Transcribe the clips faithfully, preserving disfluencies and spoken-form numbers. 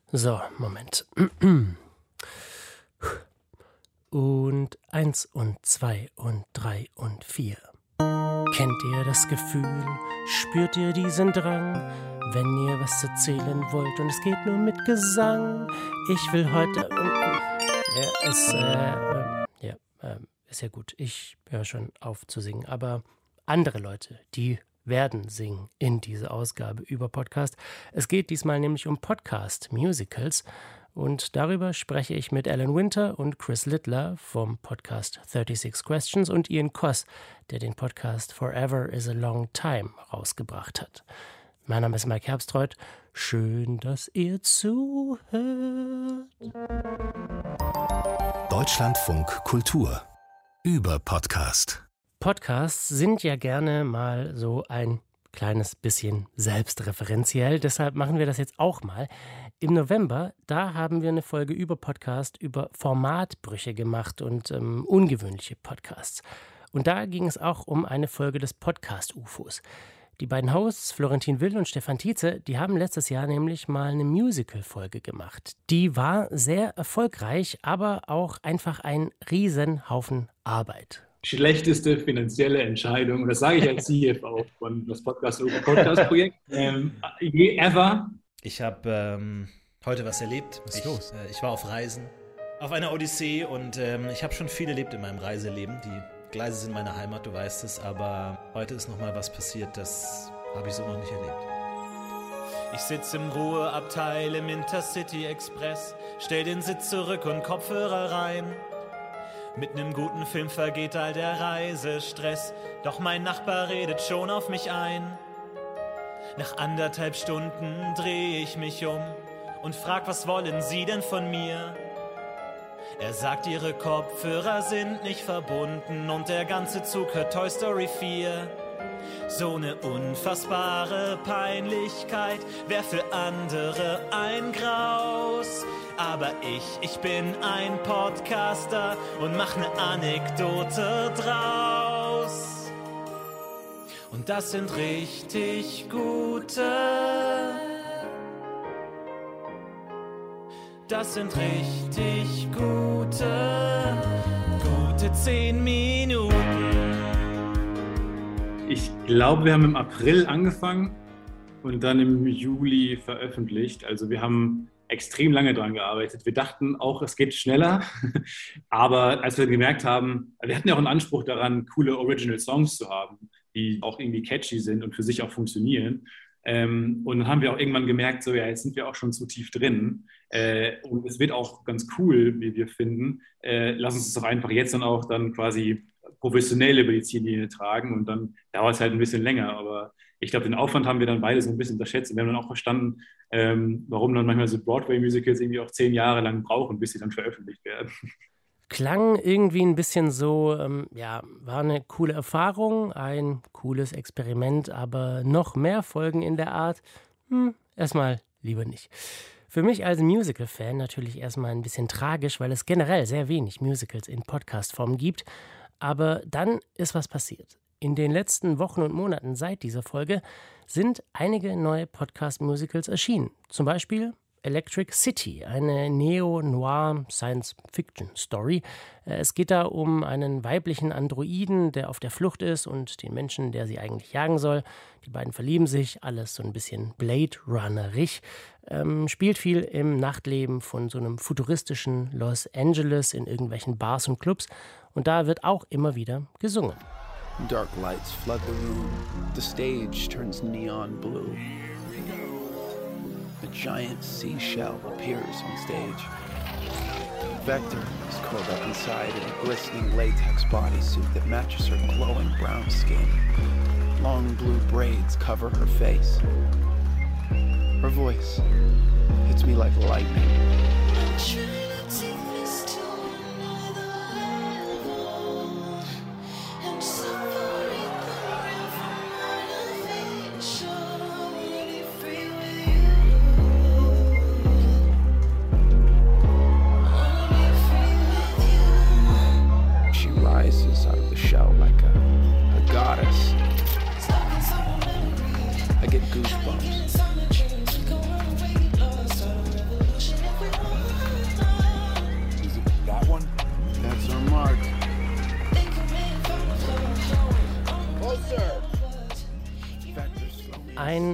So, Moment. Und eins und zwei und drei und vier. Kennt ihr das Gefühl? Spürt ihr diesen Drang? Wenn ihr was erzählen wollt und es geht nur mit Gesang. Ich will heute... Ja, ist, äh, äh, ja, äh, ist ja gut. Ich höre schon auf zu singen. Aber andere Leute, die werden singen in dieser Ausgabe über Podcast. Es geht diesmal nämlich um Podcast-Musicals. Und darüber spreche ich mit Alan Winter und Chris Littler vom Podcast thirty-six Questions und Ian Coss, der den Podcast Forever is a Long Time rausgebracht hat. Mein Name ist Mike Herbstreuth. Schön, dass ihr zuhört. Deutschlandfunk Kultur über Podcast. Podcasts sind ja gerne mal so ein kleines bisschen selbstreferenziell. Deshalb machen wir das jetzt auch mal. Im November, da haben wir eine Folge über Podcast, über Formatbrüche gemacht und ähm, ungewöhnliche Podcasts. Und da ging es auch um eine Folge des Podcast-U F Os. Die beiden Hosts, Florentin Will und Stefan Tietze, die haben letztes Jahr nämlich mal eine Musical-Folge gemacht. Die war sehr erfolgreich, aber auch einfach ein Riesenhaufen Arbeit. Schlechteste finanzielle Entscheidung, und das sage ich als C F O von das Podcast-Projekt, ähm, ever. Ich habe ähm, heute was erlebt. Was ist ich, los? Äh, ich war auf Reisen, auf einer Odyssee und ähm, ich habe schon viel erlebt in meinem Reiseleben. Die Gleise sind meine Heimat, du weißt es, aber heute ist nochmal was passiert, das habe ich so noch nicht erlebt. Ich sitze im Ruheabteil im Intercity Express, stell den Sitz zurück und Kopfhörer rein. Mit nem guten Film vergeht all der Reisestress, doch mein Nachbar redet schon auf mich ein. Nach anderthalb Stunden dreh ich mich um und frag, was wollen Sie denn von mir? Er sagt, Ihre Kopfhörer sind nicht verbunden und der ganze Zug hört Toy Story vier. So eine unfassbare Peinlichkeit wär für andere ein Graus. Aber ich, ich bin ein Podcaster und mach ne Anekdote draus. Und das sind richtig gute, das sind richtig gute, gute zehn Minuten. Ich glaube, wir haben im April angefangen und dann im Juli veröffentlicht. Also wir haben extrem lange dran gearbeitet. Wir dachten auch, es geht schneller, aber als wir gemerkt haben, wir hatten ja auch einen Anspruch daran, coole Original Songs zu haben, die auch irgendwie catchy sind und für sich auch funktionieren. Ähm, und dann haben wir auch irgendwann gemerkt, so ja, jetzt sind wir auch schon zu tief drin. Äh, und es wird auch ganz cool, wie wir finden. Äh, lass uns es doch einfach jetzt dann auch dann quasi professionell über die Ziellinie tragen und dann dauert es halt ein bisschen länger, aber ich glaube, den Aufwand haben wir dann beide so ein bisschen unterschätzt und wir haben dann auch verstanden, ähm, warum dann manchmal so Broadway-Musicals irgendwie auch zehn Jahre lang brauchen, bis sie dann veröffentlicht werden. Klang irgendwie ein bisschen so, ähm, ja, war eine coole Erfahrung, ein cooles Experiment, aber noch mehr Folgen in der Art, hm, erstmal lieber nicht. Für mich als Musical-Fan natürlich erstmal ein bisschen tragisch, weil es generell sehr wenig Musicals in Podcast-Form gibt. Aber dann ist was passiert. In den letzten Wochen und Monaten seit dieser Folge sind einige neue Podcast-Musicals erschienen. Zum Beispiel Electric City, eine Neo-Noir-Science-Fiction-Story. Es geht da um einen weiblichen Androiden, der auf der Flucht ist und den Menschen, der sie eigentlich jagen soll. Die beiden verlieben sich, alles so ein bisschen Blade-Runnerig. Ähm, spielt viel im Nachtleben von so einem futuristischen Los Angeles in irgendwelchen Bars und Clubs. Und da wird auch immer wieder gesungen. Dark lights flood the room. The stage turns neon blue. A giant seashell appears on stage. Vector is curled up inside in a glistening latex bodysuit that matches her glowing brown skin. Long blue braids cover her face. Her voice hits me like lightning.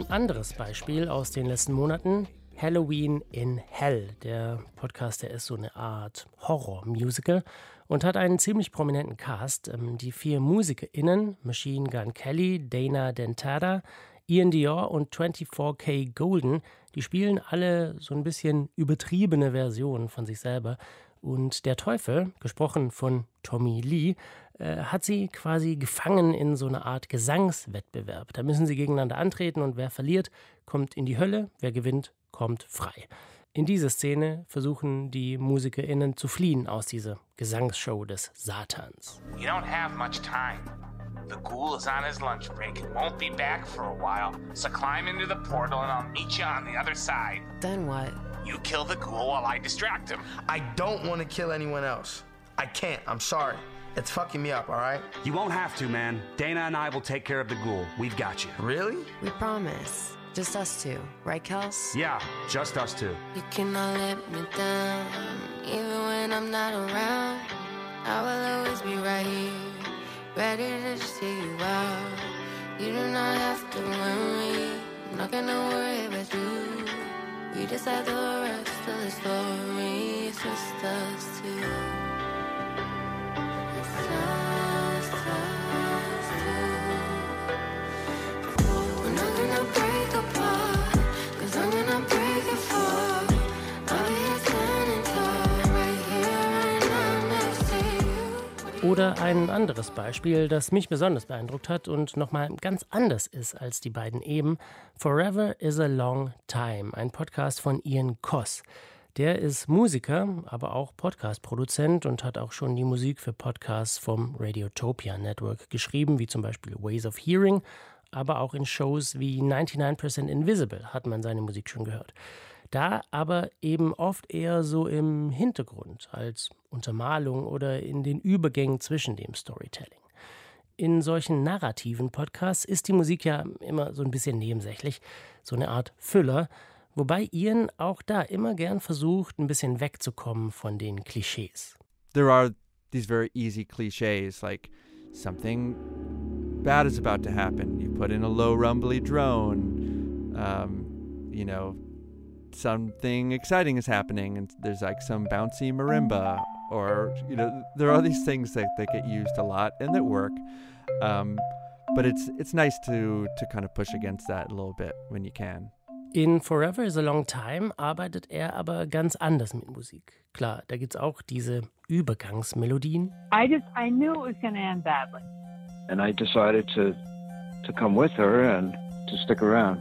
Ein anderes Beispiel aus den letzten Monaten: Halloween in Hell. Der Podcast, der ist so eine Art Horror-Musical und hat einen ziemlich prominenten Cast. Die vier MusikerInnen, Machine Gun Kelly, Dana Dentata, Ian Dior und vierundzwanzig K Golden, die spielen alle so ein bisschen übertriebene Versionen von sich selber. Und der Teufel, gesprochen von Tommy Lee, äh, hat sie quasi gefangen in so einer Art Gesangswettbewerb. Da müssen sie gegeneinander antreten und wer verliert, kommt in die Hölle, wer gewinnt, kommt frei. In dieser Szene versuchen die MusikerInnen zu fliehen aus dieser Gesangsshow des Satans. You don't have much time. The ghoul is on his lunch break and won't be back for a while. So climb into the portal and I'll meet you on the other side. Then what? You kill the ghoul while I distract him. I don't want to kill anyone else. I can't. I'm sorry. It's fucking me up, all right? You won't have to, man. Dana and I will take care of the ghoul. We've got you. Really? We promise. Just us two. Right, Kels? Yeah, just us two. You cannot let me down. Even when I'm not around, I will always be right here, ready to see you out. You do not have to worry. I'm not gonna worry about you. We decide the rest of the story. It's just us two. It's just us two. We're not gonna break apart, 'cause I'm gonna break it for. I'll be here standing tall, right here, right now, next to you. Oder ein anderes Beispiel, das mich besonders beeindruckt hat und nochmal ganz anders ist als die beiden eben: Forever is a Long Time, ein Podcast von Ian Coss. Der ist Musiker, aber auch Podcast-Produzent und hat auch schon die Musik für Podcasts vom Radiotopia Network geschrieben, wie zum Beispiel Ways of Hearing, aber auch in Shows wie ninety-nine percent Invisible hat man seine Musik schon gehört. Da aber eben oft eher so im Hintergrund, als Untermalung oder in den Übergängen zwischen dem Storytelling. In solchen narrativen Podcasts ist die Musik ja immer so ein bisschen nebensächlich, so eine Art Füller, wobei Ian auch da immer gern versucht, ein bisschen wegzukommen von den Klischees. There are these very easy cliches, like something bad is about to happen. You put in a low rumbly drone, um, you know, something exciting is happening and there's like some bouncy marimba, or, you know, there are these things that, that get used a lot and that work. Um, but it's it's nice to, to kind of push against that a little bit when you can. In Forever is a Long Time arbeitet er aber ganz anders mit Musik. Klar, da gibt's auch diese Übergangsmelodien. I just, I knew it was going to end badly. And I decided to, to come with her and to stick around.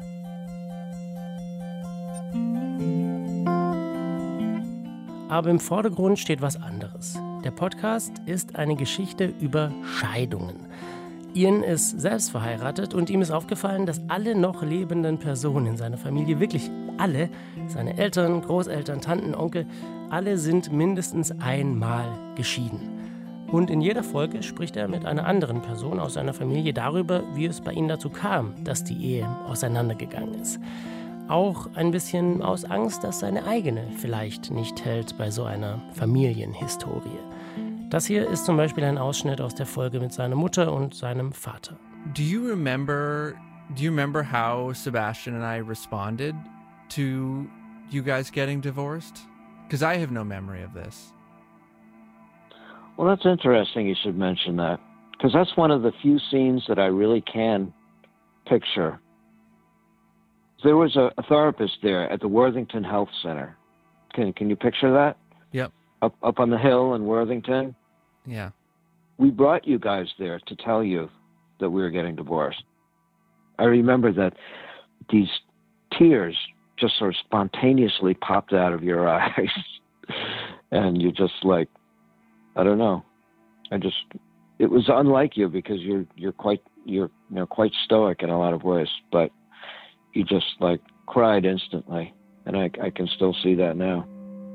Aber im Vordergrund steht was anderes. Der Podcast ist eine Geschichte über Scheidungen. Ian ist selbst verheiratet und ihm ist aufgefallen, dass alle noch lebenden Personen in seiner Familie, wirklich alle, seine Eltern, Großeltern, Tanten, Onkel, alle sind mindestens einmal geschieden. Und in jeder Folge spricht er mit einer anderen Person aus seiner Familie darüber, wie es bei ihnen dazu kam, dass die Ehe auseinandergegangen ist. Auch ein bisschen aus Angst, dass seine eigene vielleicht nicht hält bei so einer Familienhistorie. Das hier ist zum Beispiel ein Ausschnitt aus der Folge mit seiner Mutter und seinem Vater. Do you remember, do you remember how Sebastian and I responded to you guys getting divorced? Because I have no memory of this. Well, that's interesting you should mention that, because that's one of the few scenes that I really can picture. There was a, a therapist there at the Worthington Health Center. Can can you picture that? Yep. Up up on the hill in Worthington. Yeah. We brought you guys there to tell you that we were getting divorced. I remember that these tears just sort of spontaneously popped out of your eyes, and you just like, I don't know. I just, it was unlike you because you're you're quite you're you know quite stoic in a lot of ways, but you just like cried instantly, and I I can still see that now.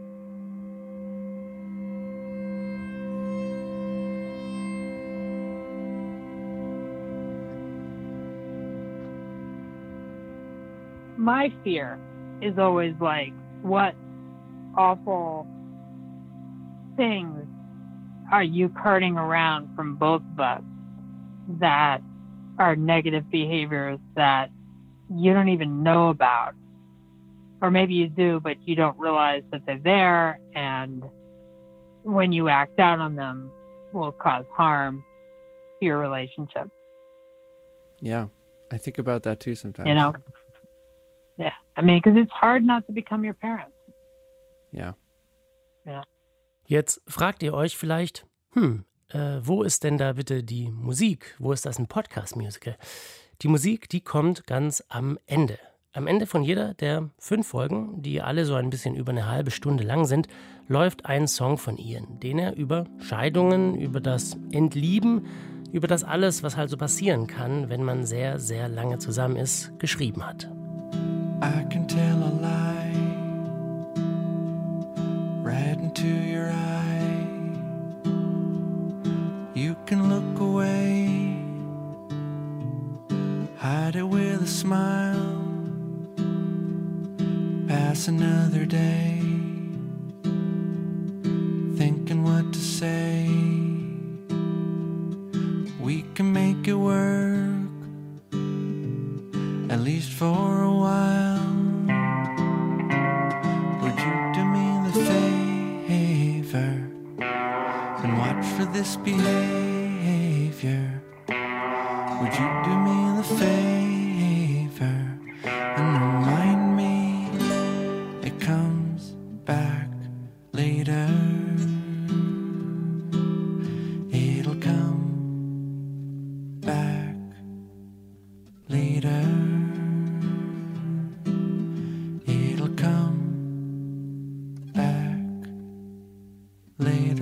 My fear is always like, what awful things are you carting around from both of us that are negative behaviors that you don't even know about. Or maybe you do, but you don't realize that they're there, and when you act out on them, will cause harm to your relationship. Yeah, I think about that too sometimes. You know? Yeah, I mean, because it's hard not to become your parents. Ja. Ja. Jetzt fragt ihr euch vielleicht, hm, äh, wo ist denn da bitte die Musik? Wo ist das ein Podcast-Musical? Die Musik, die kommt ganz am Ende. Am Ende von jeder der fünf Folgen, die alle so ein bisschen über eine halbe Stunde lang sind, läuft ein Song von Ian, den er über Scheidungen, über das Entlieben, über das alles, was halt so passieren kann, wenn man sehr, sehr lange zusammen ist, geschrieben hat. I can tell a lie right into your eye. You can look away, hide it with a smile. Pass another day, thinking what to say. We can make it work, at least for a while. Would you do me the favor and watch for this behavior? Would you do me the favor and remind me it comes back later? It'll come back later. It'll come back later.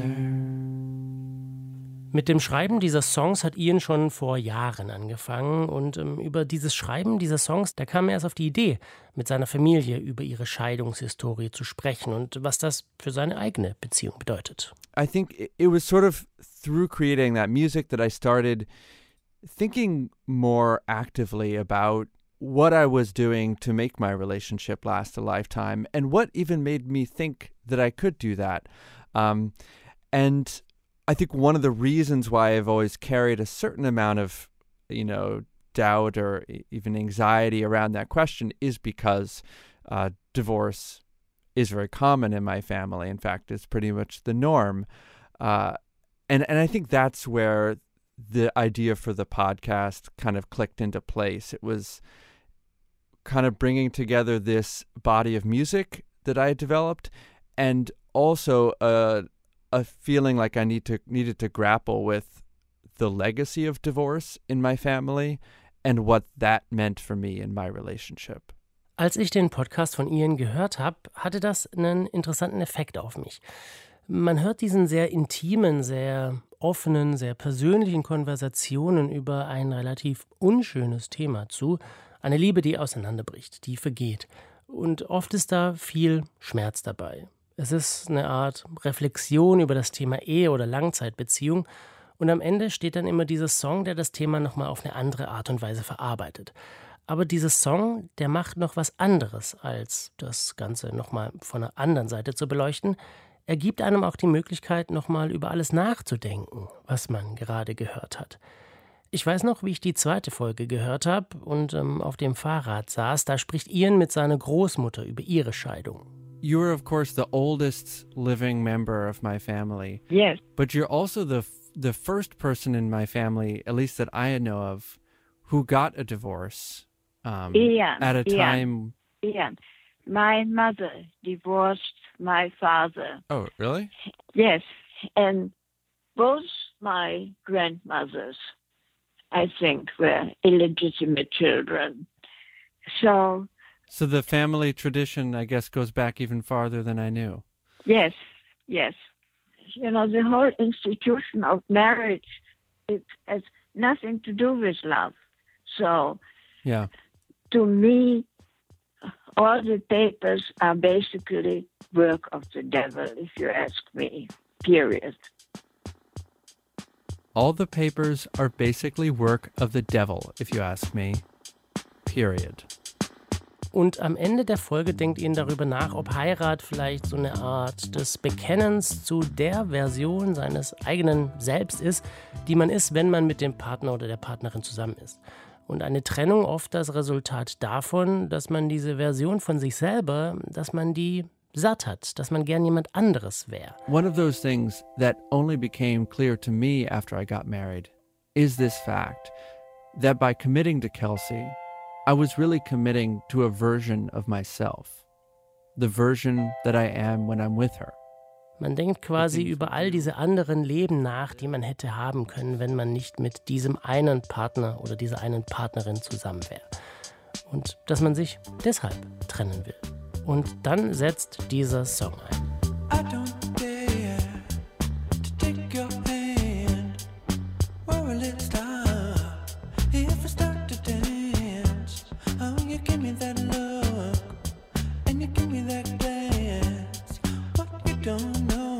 Mit dem Schreiben dieser Songs hat Ian schon vor Jahren angefangen und ähm, über dieses Schreiben dieser Songs, da kam er erst auf die Idee, mit seiner Familie über ihre Scheidungshistorie zu sprechen und was das für seine eigene Beziehung bedeutet. I think it was sort of through creating that music that I started thinking more actively about what I was doing to make my relationship last a lifetime and what even made me think that I could do that. Um, and I think one of the reasons why I've always carried a certain amount of, you know, doubt or even anxiety around that question is because uh, divorce is very common in my family. In fact, it's pretty much the norm. Uh, and, and I think that's where the idea for the podcast kind of clicked into place. It was kind of bringing together this body of music that I had developed and also a a feeling like I need to needed to grapple with the legacy of divorce in my family and what that meant for me in my relationship. Als ich den Podcast von Ian gehört habe, hatte das einen interessanten Effekt auf mich. Man hört diesen sehr intimen, sehr offenen, sehr persönlichen Konversationen über ein relativ unschönes Thema zu, eine Liebe, die auseinanderbricht, die vergeht. Und oft ist da viel Schmerz dabei. Es ist eine Art Reflexion über das Thema Ehe oder Langzeitbeziehung und am Ende steht dann immer dieser Song, der das Thema nochmal auf eine andere Art und Weise verarbeitet. Aber dieser Song, der macht noch was anderes, als das Ganze nochmal von einer anderen Seite zu beleuchten. Er gibt einem auch die Möglichkeit, nochmal über alles nachzudenken, was man gerade gehört hat. Ich weiß noch, wie ich die zweite Folge gehört habe und ähm, auf dem Fahrrad saß. Da spricht Ian mit seiner Großmutter über ihre Scheidung. You are, of course, the oldest living member of my family. Yes. But you're also the the first person in my family, at least that I know of, who got a divorce um, Ian, at a time. Ian, Ian, my mother divorced my father. Oh, really? Yes, and both my grandmothers, I think, were illegitimate children. So. So the family tradition, I guess, goes back even farther than I knew. Yes, yes. You know, the whole institution of marriage, it has nothing to do with love. So, yeah. To me, all the papers are basically work of the devil, if you ask me, period. All the papers are basically work of the devil, if you ask me, period. Und am Ende der Folge denkt Ian darüber nach, ob Heirat vielleicht so eine Art des Bekennens zu der Version seines eigenen Selbst ist, die man ist, wenn man mit dem Partner oder der Partnerin zusammen ist. Und eine Trennung oft das Resultat davon, dass man diese Version von sich selber, dass man die satt hat, dass man gern jemand anderes wäre. One of those things that only became clear to me after I got married is this fact that by committing to Kelsey, I was really committing to a version of myself, the version that I am when I'm with her. Man denkt quasi über all diese anderen Leben nach, die man hätte haben können, wenn man nicht mit diesem einen Partner oder dieser einen Partnerin zusammen wäre. Und dass man sich deshalb trennen will. Und dann setzt dieser Song ein. I don't dare to take your hand. Where will it stop? If I start to dance, oh, you give me that look, and you give me that glance. What you don't know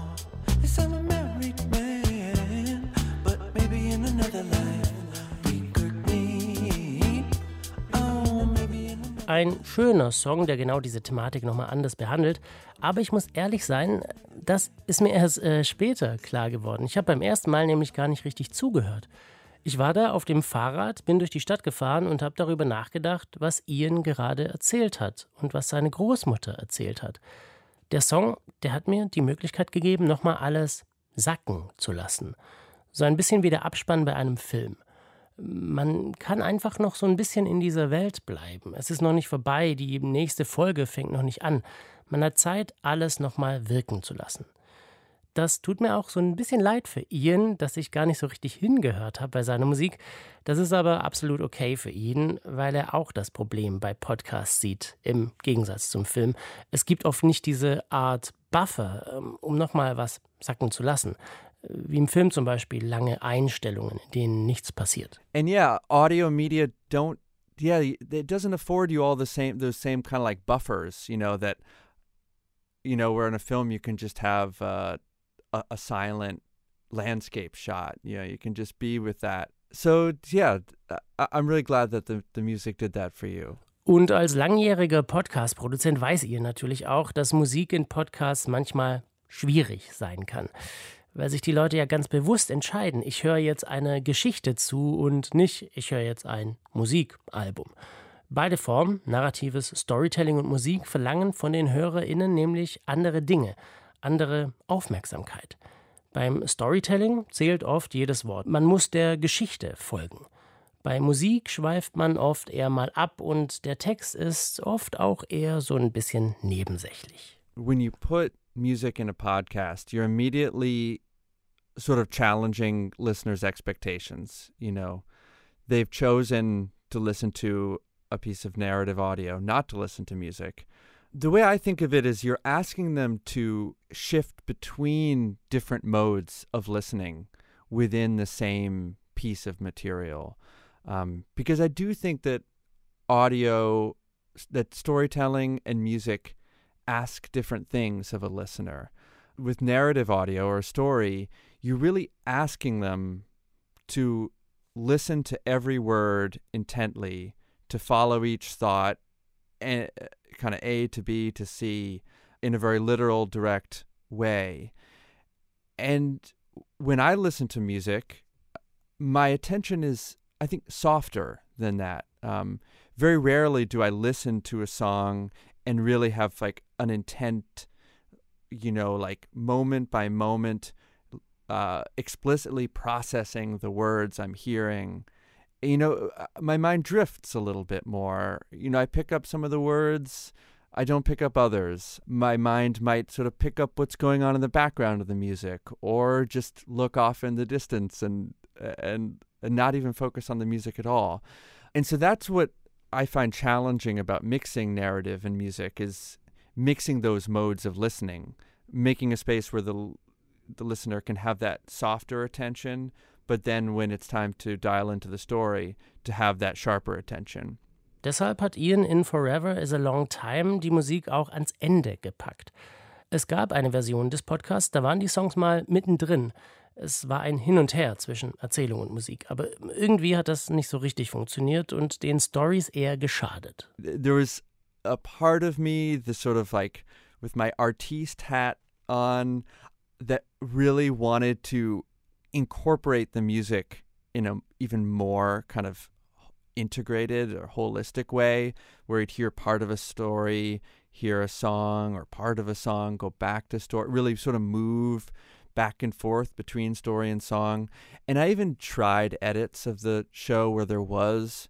is I'm a married man, but maybe in another life we could meet. Oh, maybe in another. Ein schöner Song, der genau diese Thematik nochmal anders behandelt. Aber ich muss ehrlich sein, das ist mir erst äh, später klar geworden. Ich habe beim ersten Mal nämlich gar nicht richtig zugehört. Ich war da auf dem Fahrrad, bin durch die Stadt gefahren und habe darüber nachgedacht, was Ian gerade erzählt hat und was seine Großmutter erzählt hat. Der Song, der hat mir die Möglichkeit gegeben, nochmal alles sacken zu lassen. So ein bisschen wie der Abspann bei einem Film. Man kann einfach noch so ein bisschen in dieser Welt bleiben. Es ist noch nicht vorbei, die nächste Folge fängt noch nicht an. Man hat Zeit, alles nochmal wirken zu lassen. Das tut mir auch so ein bisschen leid für Ian, dass ich gar nicht so richtig hingehört habe bei seiner Musik. Das ist aber absolut okay für ihn, weil er auch das Problem bei Podcasts sieht, im Gegensatz zum Film. Es gibt oft nicht diese Art Buffer, um nochmal was sacken zu lassen. Wie im Film zum Beispiel lange Einstellungen, in denen nichts passiert. And yeah, audio media don't, yeah, it doesn't afford you all the same, those same kind of like buffers, you know, that, you know, where in a film you can just have uh, a, a silent landscape shot. You know, you can just be with that. So yeah, I, I'm really glad that the, the music did that for you. Und als langjähriger Podcast-Produzent weiß ihr natürlich auch, dass Musik in Podcasts manchmal schwierig sein kann. Weil sich die Leute ja ganz bewusst entscheiden, ich höre jetzt eine Geschichte zu und nicht, ich höre jetzt ein Musikalbum. Beide Formen, narratives Storytelling und Musik, verlangen von den HörerInnen nämlich andere Dinge, andere Aufmerksamkeit. Beim Storytelling zählt oft jedes Wort. Man muss der Geschichte folgen. Bei Musik schweift man oft eher mal ab und der Text ist oft auch eher so ein bisschen nebensächlich. When you put music in a podcast, you're immediately sort of challenging listeners' expectations. You know, they've chosen to listen to a piece of narrative audio, not to listen to music. The way I think of it is you're asking them to shift between different modes of listening within the same piece of material. Um, because I do think that audio, that storytelling and music ask different things of a listener. With narrative audio or a story, you're really asking them to listen to every word intently, to follow each thought, and kind of A to B to C in a very literal, direct way. And when I listen to music, my attention is, I think, softer than that. Um, very rarely do I listen to a song and really have like an intent, you know, like moment by moment, uh, explicitly processing the words I'm hearing. You know, my mind drifts a little bit more. You know, I pick up some of the words, I don't pick up others. My mind might sort of pick up what's going on in the background of the music, or just look off in the distance and and, and not even focus on the music at all. And so that's what I find challenging about mixing narrative and music, is mixing those modes of listening, making a space where the the listener can have that softer attention, but then when it's time to dial into the story, to have that sharper attention. Deshalb hat Ian in Forever is a Long Time die Musik auch ans Ende gepackt. Es gab eine Version des Podcasts, da waren die Songs mal mittendrin. Es war ein Hin und Her zwischen Erzählung und Musik, aber irgendwie hat das nicht so richtig funktioniert und den Stories eher geschadet. There was a part of me, the sort of like with my artiste hat on, that really wanted to incorporate the music in a even more kind of integrated or holistic way where you'd hear part of a story, hear a song or part of a song, go back to story, really sort of move back and forth between story and song. And I even tried edits of the show where there was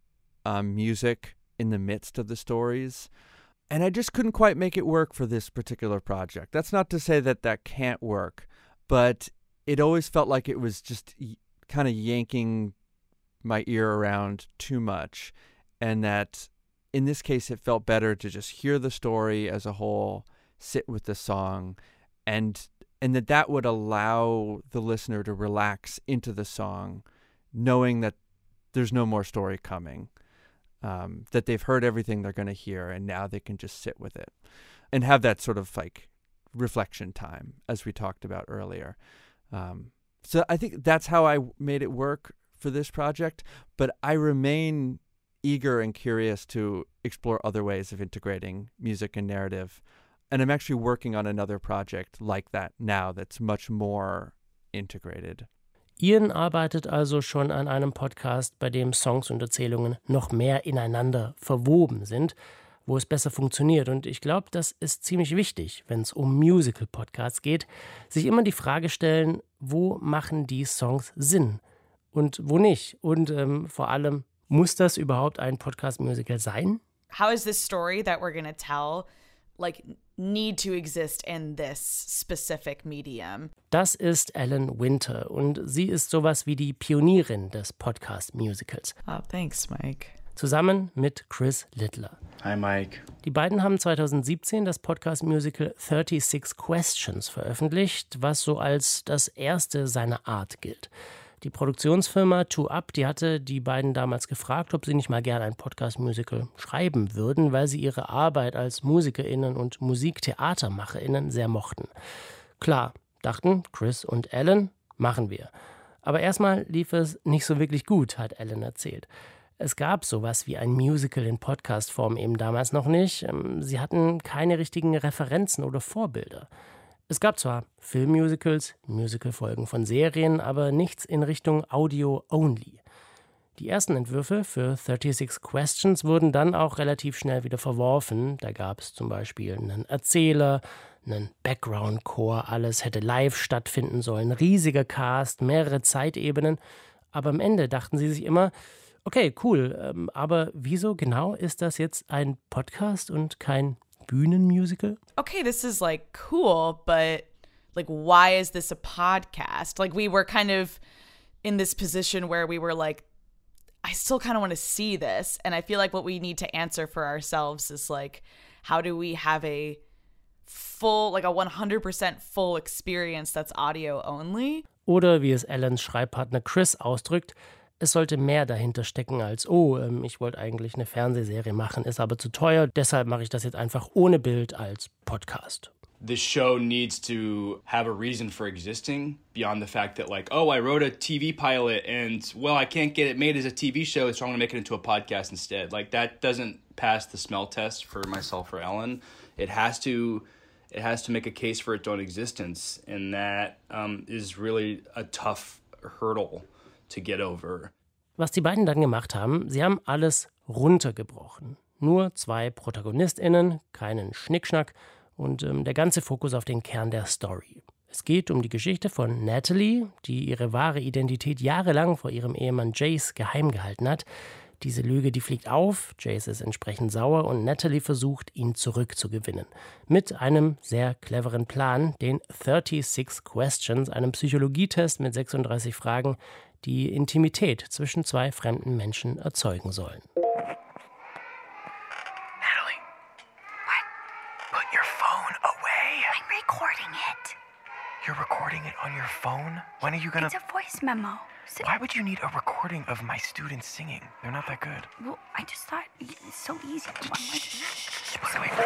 um, music in the midst of the stories. And I just couldn't quite make it work for this particular project. That's not to say that that can't work, but it always felt like it was just y- kind of yanking my ear around too much. And that in this case, it felt better to just hear the story as a whole, sit with the song, and and that that would allow the listener to relax into the song, knowing that there's no more story coming, um, that they've heard everything they're going to hear, and now they can just sit with it and have that sort of like reflection time, as we talked about earlier. Um, so I think that's how I made it work for this project, but I remain eager and curious to explore other ways of integrating music and narrative. And I'm actually working on another project like that now that's much more integrated. Ian arbeitet also schon an einem Podcast, bei dem Songs und Erzählungen noch mehr ineinander verwoben sind, wo es besser funktioniert. Und ich glaube, das ist ziemlich wichtig, wenn es um Musical-Podcasts geht, sich immer die Frage stellen, wo machen die Songs Sinn und wo nicht? Und ähm, vor allem, muss das überhaupt ein Podcast-Musical sein? How is this story that we're going to tell, like, need to exist in this specific medium? Das ist Ellen Winter und sie ist sowas wie die Pionierin des Podcast-Musicals. Oh, thanks, Mike. Zusammen mit Chris Littler. Hi, Mike. Die beiden haben zweitausendsiebzehn das Podcast-Musical thirty-six Questions veröffentlicht, was so als das erste seiner Art gilt. Die Produktionsfirma Two Up, die hatte die beiden damals gefragt, ob sie nicht mal gerne ein Podcast-Musical schreiben würden, weil sie ihre Arbeit als MusikerInnen und MusiktheatermacherInnen sehr mochten. Klar, dachten Chris und Ellen, machen wir. Aber erstmal lief es nicht so wirklich gut, hat Ellen erzählt. Es gab sowas wie ein Musical in Podcast-Form eben damals noch nicht. Sie hatten keine richtigen Referenzen oder Vorbilder. Es gab zwar Filmmusicals, Musicalfolgen von Serien, aber nichts in Richtung Audio-only. Die ersten Entwürfe für thirty-six Questions wurden dann auch relativ schnell wieder verworfen. Da gab es zum Beispiel einen Erzähler, einen Background-Chor, alles hätte live stattfinden sollen, riesiger Cast, mehrere Zeitebenen. Aber am Ende dachten sie sich immer, okay, cool, ähm, aber wieso genau ist das jetzt ein Podcast und kein Bühnenmusical? Okay, this is like cool, but like, why is this a podcast? Like, we were kind of in this position where we were like, I still kind of want to see this. And I feel like what we need to answer for ourselves is like, how do we have a full, like a one hundred percent full experience that's audio only? Oder wie es Ellens Schreibpartner Chris ausdrückt, es sollte mehr dahinter stecken als, oh, ähm, ich wollte eigentlich eine Fernsehserie machen, ist aber zu teuer, deshalb mache ich das jetzt einfach ohne Bild als Podcast. The show needs to have a reason for existing beyond the fact that, like, oh, I wrote a T V pilot and, well, I can't get it made as a T V show, so I'm going to make it into a podcast instead. Like, that doesn't pass the smell test for myself or Ellen. It has to, it has to make a case for its own existence, and that um, is really a tough hurdle to get over. Was die beiden dann gemacht haben, sie haben alles runtergebrochen. Nur zwei ProtagonistInnen, keinen Schnickschnack und ähm, der ganze Fokus auf den Kern der Story. Es geht um die Geschichte von Natalie, die ihre wahre Identität jahrelang vor ihrem Ehemann Jace geheim gehalten hat. Diese Lüge, die fliegt auf, Jace ist entsprechend sauer und Natalie versucht, ihn zurückzugewinnen. Mit einem sehr cleveren Plan, den thirty-six Questions, einem Psychologietest mit sechsunddreißig Fragen, die Intimität zwischen zwei fremden Menschen erzeugen sollen. Natalie. What? Put your phone away. I'm recording it. You're recording it on your phone? When are you gonna... It's a voice memo. So... Why would you need a recording of my students singing? They're not that good. Well, I just thought it's so easy. Shh, by the way.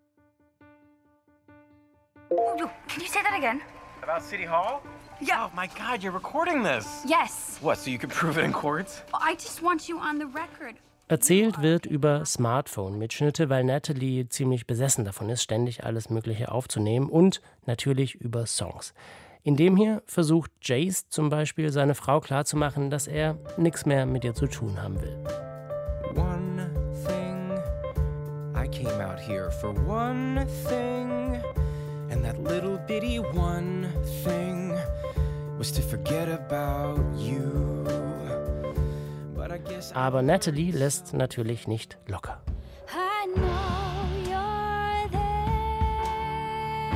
Oh, can you say that again? About City Hall? Yeah. Oh my God, you're recording this. Yes. What, so you can prove it in court? I just want you on the record. Erzählt wird über Smartphone-Mitschnitte, weil Natalie ziemlich besessen davon ist, ständig alles Mögliche aufzunehmen und natürlich über Songs. In dem hier versucht Jace zum Beispiel seine Frau klarzumachen, dass er nichts mehr mit ihr zu tun haben will. One thing, I came out here for one thing, and that little bitty one thing was to forget about you. But I guess Aber Natalie lässt natürlich nicht locker. I know you're there.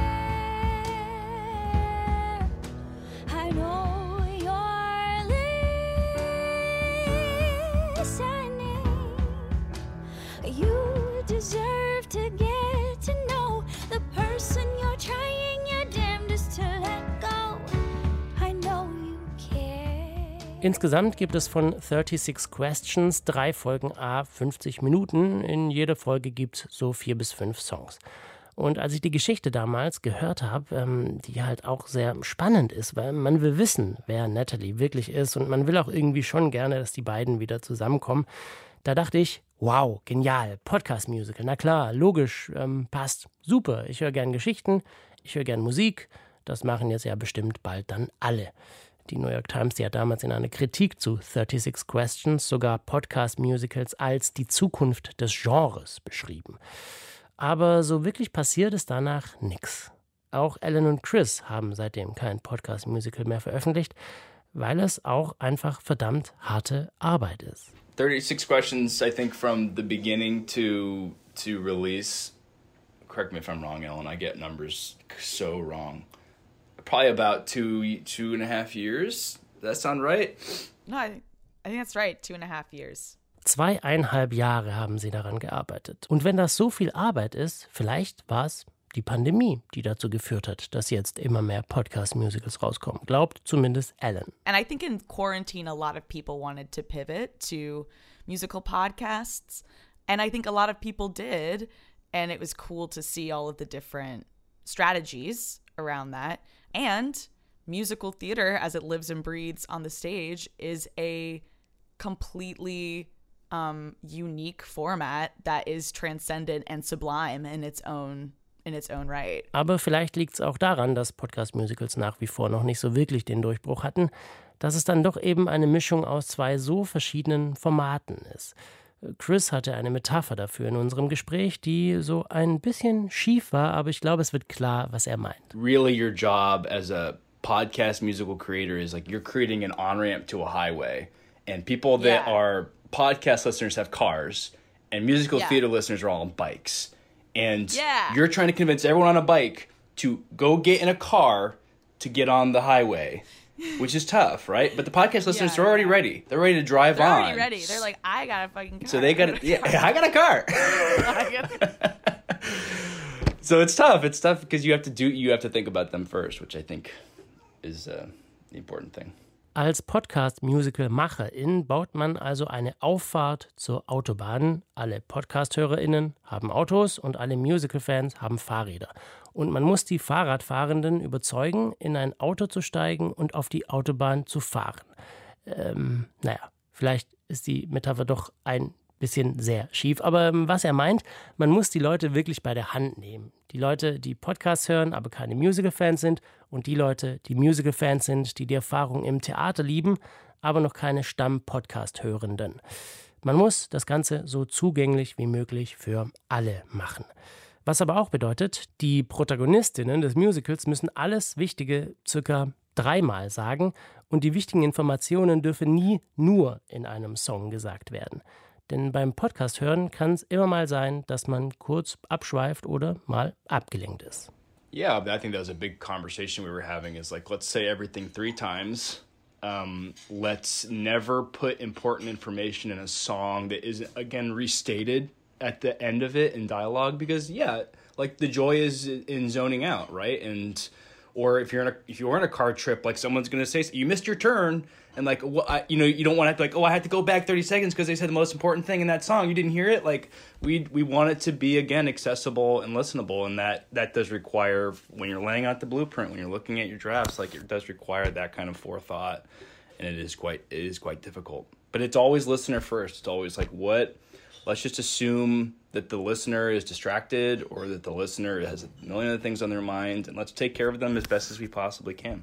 I know you're listening. You deserve to get to know the person you're trying your damnedest to let go. I know you care. Insgesamt gibt es von thirty-six Questions drei Folgen à fünfzig Minuten. In jeder Folge gibt es so vier bis fünf Songs. Und als ich die Geschichte damals gehört habe, ähm, die halt auch sehr spannend ist, weil man will wissen, wer Natalie wirklich ist und man will auch irgendwie schon gerne, dass die beiden wieder zusammenkommen, da dachte ich, wow, genial, Podcast-Musical, na klar, logisch, ähm, passt, super, ich höre gern Geschichten, ich höre gern Musik, das machen jetzt ja bestimmt bald dann alle. Die New York Times, die hat damals in einer Kritik zu thirty-six Questions sogar Podcast-Musicals als die Zukunft des Genres beschrieben. Aber so wirklich passiert ist danach nichts. Auch Alan und Chris haben seitdem kein Podcast-Musical mehr veröffentlicht, weil es auch einfach verdammt harte Arbeit ist. thirty-six Questions, I think from the beginning to to release, correct me if I'm wrong, Ellen, I get numbers so wrong. Probably about two, two and a half years. Does that sound right? No, I, I think that's right. Two and a half years. Zweieinhalb Jahre haben sie daran gearbeitet. Und wenn das so viel Arbeit ist, vielleicht war es die Pandemie, die dazu geführt hat, dass jetzt immer mehr Podcast-Musicals rauskommen. Glaubt zumindest Alan. And I think in quarantine, a lot of people wanted to pivot to musical podcasts. And I think a lot of people did. And it was cool to see all of the different strategies around that. And musical theater, as it lives and breathes on the stage, is a completely um, unique format that is transcendent and sublime in its own in its own right. Aber vielleicht liegt es auch daran, dass Podcast-Musicals nach wie vor noch nicht so wirklich den Durchbruch hatten, dass es dann doch eben eine Mischung aus zwei so verschiedenen Formaten ist. Chris hatte eine Metapher dafür in unserem Gespräch, die so ein bisschen schief war, aber ich glaube, es wird klar, was er meint. Really, your job as a podcast musical creator is like you're creating an on-ramp to a highway. And people that Yeah. are podcast listeners have cars, and musical Yeah. theater listeners are all on bikes. And Yeah. you're trying to convince everyone on a bike to go get in a car to get on the highway, which is tough, right? But the podcast listeners Yeah, are already yeah. ready. They're ready to drive They're on. already ready. They're like, I got a fucking car. So they got yeah, I got a car. I got- So it's tough. It's tough because you have to do you have to think about them first, which I think is uh, the important thing. Als Podcast-Musical-Macherin baut man also eine Auffahrt zur Autobahn. Alle Podcast-HörerInnen haben Autos und alle Musical-Fans haben Fahrräder. Und man muss die Fahrradfahrenden überzeugen, in ein Auto zu steigen und auf die Autobahn zu fahren. Ähm, naja, vielleicht ist die Metapher doch ein bisschen sehr schief. Aber ähm, was er meint, man muss die Leute wirklich bei der Hand nehmen. Die Leute, die Podcasts hören, aber keine Musical-Fans sind, und die Leute, die Musical-Fans sind, die die Erfahrung im Theater lieben, aber noch keine Stamm-Podcast-Hörenden. Man muss das Ganze so zugänglich wie möglich für alle machen. Was aber auch bedeutet, die Protagonistinnen des Musicals müssen alles Wichtige circa dreimal sagen und die wichtigen Informationen dürfen nie nur in einem Song gesagt werden. Denn beim Podcast hören kann es immer mal sein, dass man kurz abschweift oder mal abgelenkt ist. Yeah, I think that was a big conversation we were having is like, let's say everything three times. Um, let's never put important information in a song that isn't, again, restated at the end of it in dialogue because, yeah, like the joy is in zoning out, right? And or if you're in a if you're on a car trip, like someone's gonna say you missed your turn, and like well, I, you know you don't want to have to like oh I had to go back thirty seconds because they said the most important thing in that song. You didn't hear it. Like we we want it to be again accessible and listenable, and that that does require when you're laying out the blueprint, when you're looking at your drafts, like it does require that kind of forethought, and it is quite it is quite difficult. But it's always listener first. It's always like what. Let's just assume that the listener is distracted or that the listener has a million other things on their mind, and let's take care of them as best as we possibly can.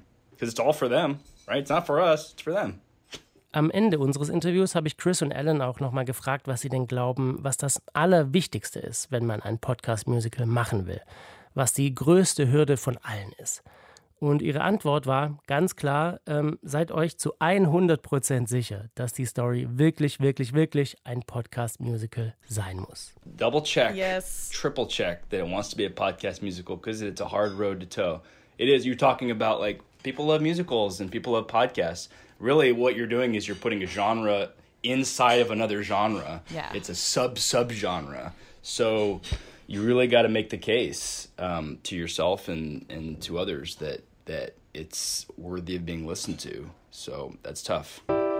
because it's all for them, right? It's not for us, it's for them. Am Ende unseres Interviews habe ich Chris und Alan auch nochmal gefragt, was sie denn glauben, was das Allerwichtigste ist, wenn man ein Podcast-Musical machen will. Was die größte Hürde von allen ist. Und ihre Antwort war ganz klar, ähm, seid euch zu hundert Prozent sicher, dass die Story wirklich, wirklich, wirklich ein Podcast-Musical sein muss. Double check, yes. triple check that it wants to be a podcast musical because it's a hard road to toe. It is, you're talking about like, people love musicals and people love podcasts. Really what you're doing is you're putting a genre inside of another genre. Yeah. It's a sub-sub-genre. So you really got to make the case um, to yourself and, and to others that that it's worthy of being listened to. So that's tough.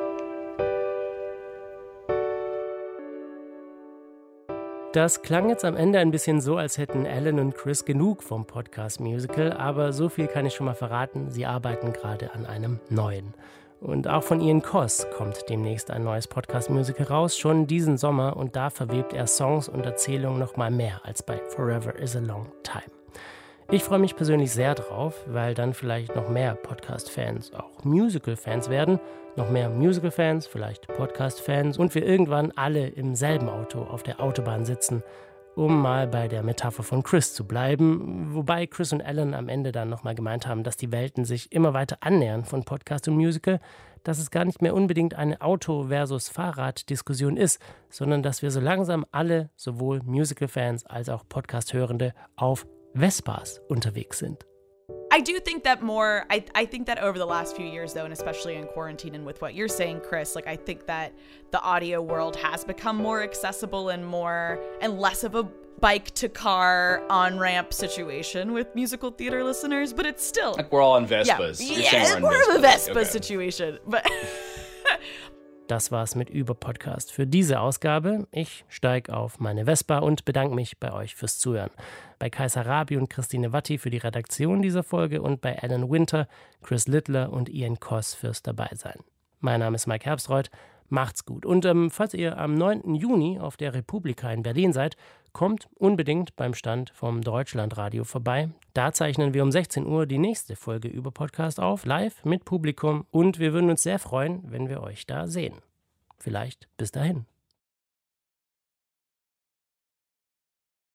Das klang jetzt am Ende ein bisschen so, als hätten Alan und Chris genug vom Podcast-Musical, aber so viel kann ich schon mal verraten, sie arbeiten gerade an einem neuen. Und auch von Ian Coss kommt demnächst ein neues Podcast-Musical raus, schon diesen Sommer, und da verwebt er Songs und Erzählungen noch mal mehr als bei Forever is a Long Time. Ich freue mich persönlich sehr drauf, weil dann vielleicht noch mehr Podcast-Fans auch Musical-Fans werden, noch mehr Musical-Fans, vielleicht Podcast-Fans und wir irgendwann alle im selben Auto auf der Autobahn sitzen, um mal bei der Metapher von Chris zu bleiben, wobei Chris und Alan am Ende dann nochmal gemeint haben, dass die Welten sich immer weiter annähern von Podcast und Musical, dass es gar nicht mehr unbedingt eine Auto- versus Fahrrad-Diskussion ist, sondern dass wir so langsam alle, sowohl Musical-Fans als auch Podcast-Hörende, auf Vespas unterwegs sind. I do think that more, I, I think that over the last few years, though, and especially in quarantine and with what you're saying, Chris, like I think that the audio world has become more accessible and more, and less of a bike to car on-ramp situation with musical theater listeners, but it's still... Like we're all on Vespas. Yeah, You're yeah saying it's we're more on of a Vespa okay. situation, but... Das war's mit Über-Podcast für diese Ausgabe. Ich steige auf meine Vespa und bedanke mich bei euch fürs Zuhören. Bei Kaiser Rabi und Christine Watti für die Redaktion dieser Folge und bei Alan Winter, Chris Littler und Ian Coss fürs Dabeisein. Mein Name ist Mike Herbstreuth. Macht's gut. Und ähm, falls ihr am neunten Juni auf der Republika in Berlin seid, kommt unbedingt beim Stand vom Deutschlandradio vorbei. Da zeichnen wir um sechzehn Uhr die nächste Folge über Podcast auf, live mit Publikum. Und wir würden uns sehr freuen, wenn wir euch da sehen. Vielleicht bis dahin.